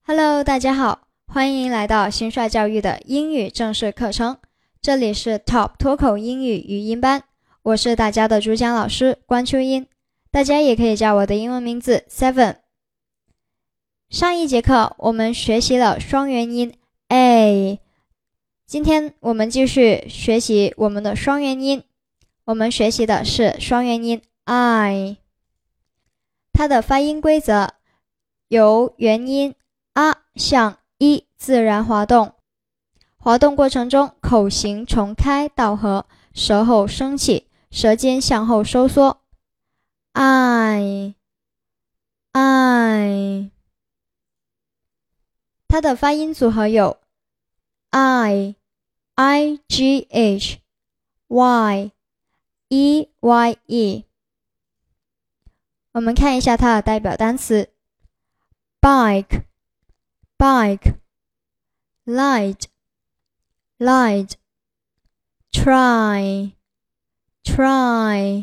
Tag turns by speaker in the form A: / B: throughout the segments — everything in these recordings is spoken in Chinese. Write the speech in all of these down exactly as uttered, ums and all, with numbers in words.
A: Hello， 大家好，欢迎来到新帅教育的英语正式课程，这里是 Top 脱口英语语音班，我是大家的主讲老师关秋英，大家也可以叫我的英文名字 Seven。上一节课我们学习了双元音 A， 今天我们继续学习我们的双元音，我们学习的是双元音 I， 它的发音规则由元音啊向一自然滑动，滑动过程中口型从开到合，舌后升起，舌尖向后收缩。I I 它的发音组合有 I I G H Y E Y E。 我们看一下它的代表单词 Bike Bike, light, light, try, try,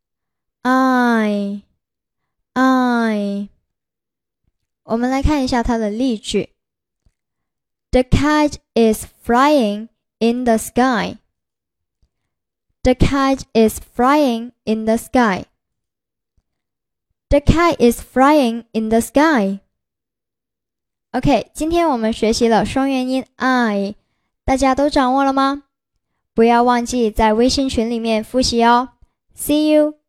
A: I, I。 我们来看一下它的例句 The kite is flying in the sky. The kite is flying in the sky. The kite is flying in the sky.OK， 今天我们学习了双元音 I， 大家都掌握了吗？不要忘记在微信群里面复习哦。See you!